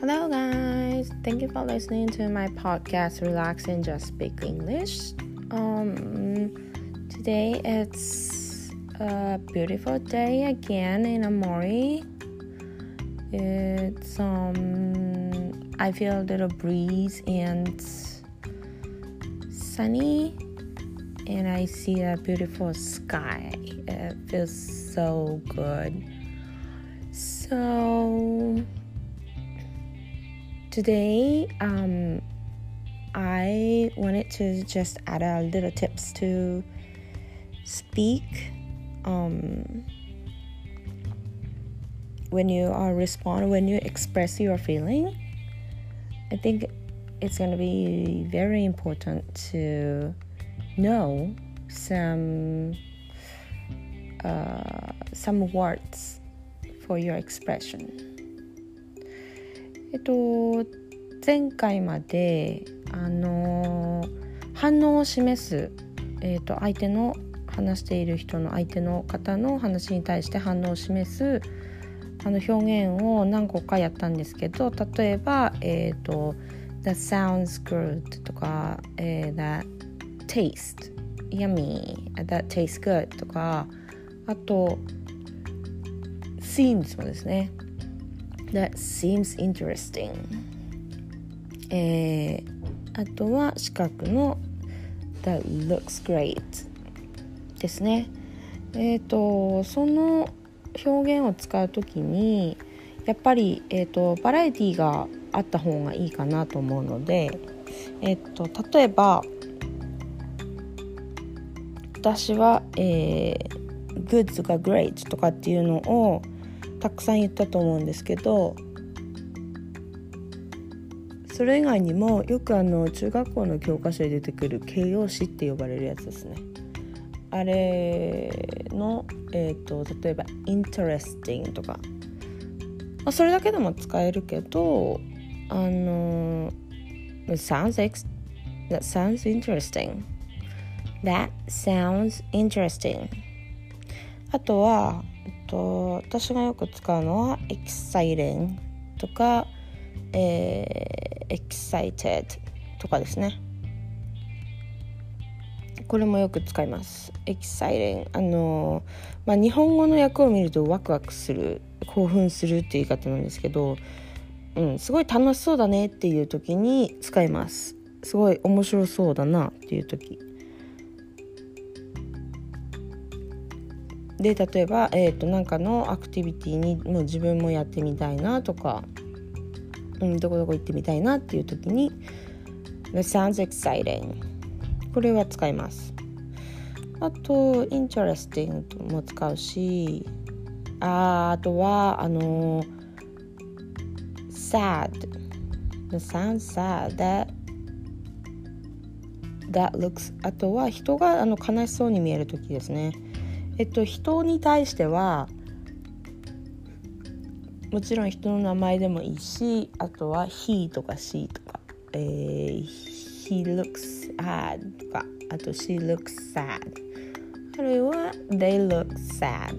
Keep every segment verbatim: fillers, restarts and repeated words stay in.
Hello guys, thank you for listening to my podcast Relax and Just Speak English. Um, today it's a beautiful day again in Amori. It's um, I feel a little breeze and sunny, and I see a beautiful sky. It feels so good. So today, um, I wanted to just add a little tips to speak um, when you are respond when you express your feeling. I think it's going to be very important to know some uh, some words for your expression. えっと前回まであの反応を示す、えっと相手の話している人の相手の方の話に対して反応を示すあの表現を何個かやったんですけど、例えば、えっと That sounds good とか、えー、That taste yummy That tastes good とか、あと seems もですね。That seems interesting、えー、あとは四角の That looks great ですね。えっとその表現を使うときにやっぱり、えーと、バラエティがあった方がいいかなと思うので、えーと、例えば私は、えー、good とか great とかっていうのをたくさん言ったと思うんですけど、それ以外にもよくあの中学校の教科書で出てくる形容詞って呼ばれるやつですね。あれの、えーと、例えば interesting とか、まあ、それだけでも使えるけど、あの That sounds, ex- that sounds interesting That sounds interesting あとはと私がよく使うのは exciting とか、えー、excited とかですね。これもよく使います。 exciting あの、まあ、日本語の訳を見るとワクワクする、興奮するっていう言い方なんですけど、うん、すごい楽しそうだねっていう時に使います。すごい面白そうだなっていう時で、例えば、えーと、なんかのアクティビティにもう自分もやってみたいなとか、うん、どこどこ行ってみたいなっていう時に That sounds exciting これは使います。あと interesting も使うし、あ, あとはあの sad That sounds sad That, that looks あとは人があの悲しそうに見える時ですね。えっと、人に対してはもちろん人の名前でもいいし、あとは he とか she とか、えー、he looks sad とか、あと she looks sad あるいは they look sad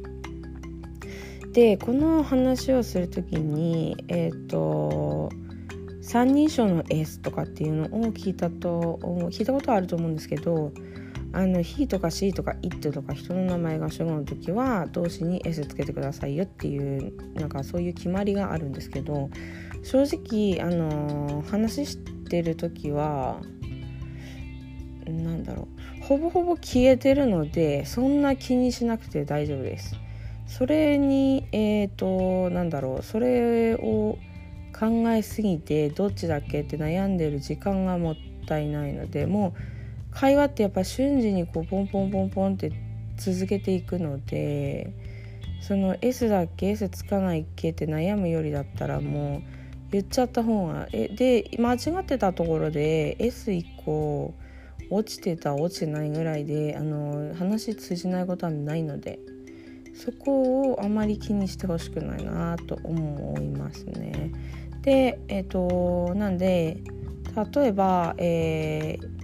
で、この話をするときにえっと三人称の S とかっていうのを聞いたと聞いたことあると思うんですけど、あの he とか she とか it とか人の名前が主語の時は動詞に s つけてくださいよっていうなんかそういう決まりがあるんですけど、正直あの話してる時はなんだろうほぼほぼ消えてるのでそんな気にしなくて大丈夫です。それにえっとなんだろうそれを考えすぎてどっちだっけって悩んでる時間がもったいないので、もう会話ってやっぱ瞬時にこうポンポンポンポンって続けていくので、その S だっけ S つかないっけって悩むよりだったらもう言っちゃった方がえで間違ってたところで エスいっこ落ちてた落ちてないぐらいであの話通じないことはないので、そこをあまり気にしてほしくないなと思いますね。でえっとなんで例えばえー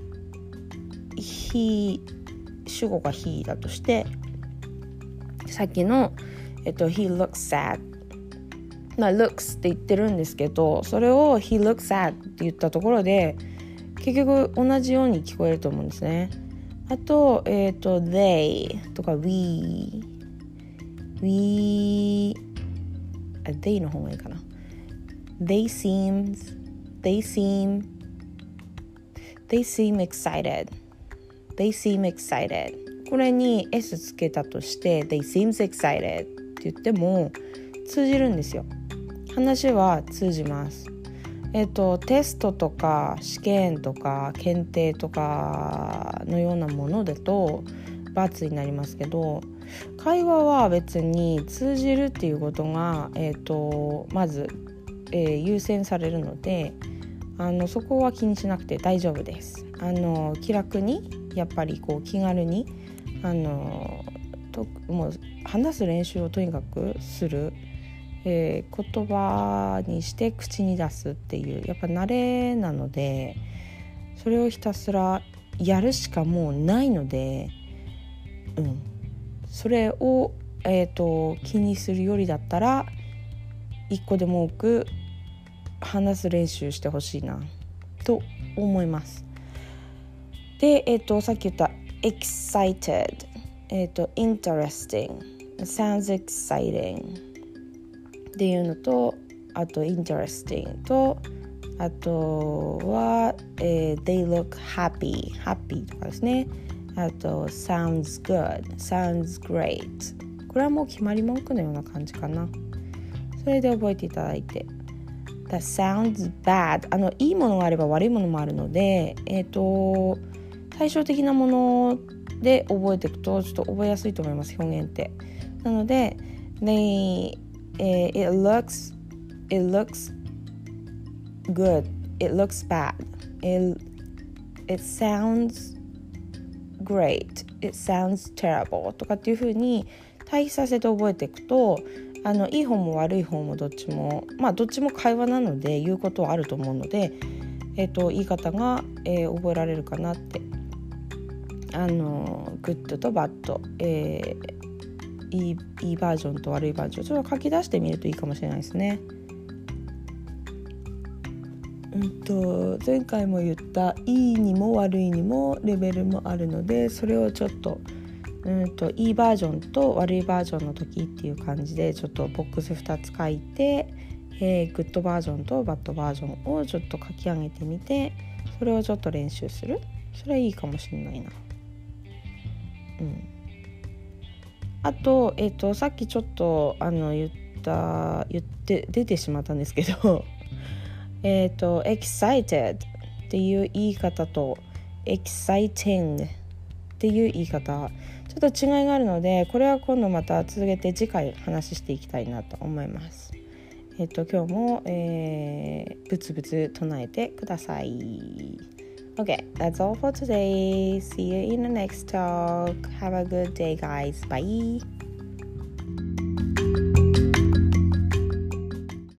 he 主語が he だとして、さっきの、えっと、he looks sad まあ looks って言ってるんですけど、それを he looks at って言ったところで結局同じように聞こえると思うんですね。あと、えっと they とか we we あ they の方がいいかな。 they seems they seem they seem excited they seem excited これに s つけたとして they seems excited って言っても通じるんですよ。話は通じます。えっとテストとか試験とか検定とかのようなものだと×になりますけど、会話は別に通じるっていうことが、えっとまず、えー、優先されるので、あのそこは気にしなくて大丈夫です。あの気楽にやっぱりこう気軽にあのともう話す練習をとにかくする。えー、言葉にして口に出すっていうやっぱ慣れなので、それをひたすらやるしかもうないので、うん、それを、えーと、気にするよりだったら一個でも多く話す練習してほしいなと思います。で、えーと、さっき言った excited、えーと、interesting sounds excitingっていうのと、あと interesting と、あとは、えー、they look happy happy とかですね。あと sounds good sounds great これはもう決まり文句のような感じかな。それで覚えていただいて、 that sounds bad あのいいものがあれば悪いものもあるので、えっと対照的なもので覚えていくとちょっと覚えやすいと思います、表現って。なので they Uh, it looks it looks good it looks bad it, it sounds great it sounds terrible とかっていう風に対比させて覚えていくと、あのいい方も悪い方もどっちもまあどっちも会話なので言うことはあると思うので、えっと言い方が、えー、覚えられるかなって。あのグッドとバッド、えーいい、いいバージョンと悪いバージョン、それを書き出してみるといいかもしれないですね。うんと前回も言ったいいにも悪いにもレベルもあるので、それをちょっとうんといいバージョンと悪いバージョンの時っていう感じでちょっとボックスふたつ書いて、えー、グッドバージョンとバッドバージョンをちょっと書き上げてみて、それをちょっと練習する。それはいいかもしれないな。うんあと、えっと、さっきちょっとあの言った言って出てしまったんですけどえっと excited っていう言い方と exciting っていう言い方ちょっと違いがあるので、これは今度また続けて次回話していきたいなと思います。えっと今日も、えー、ブツブツ唱えてください。Okay, that's all for today. See you in the next talk. Have a good day, guys. Bye.